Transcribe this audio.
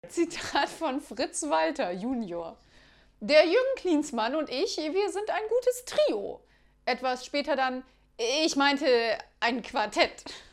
Zitat von Fritz Walter Junior. Der Jürgen Klinsmann und ich, wir sind ein gutes Trio. Etwas später dann, ich meinte ein Quartett.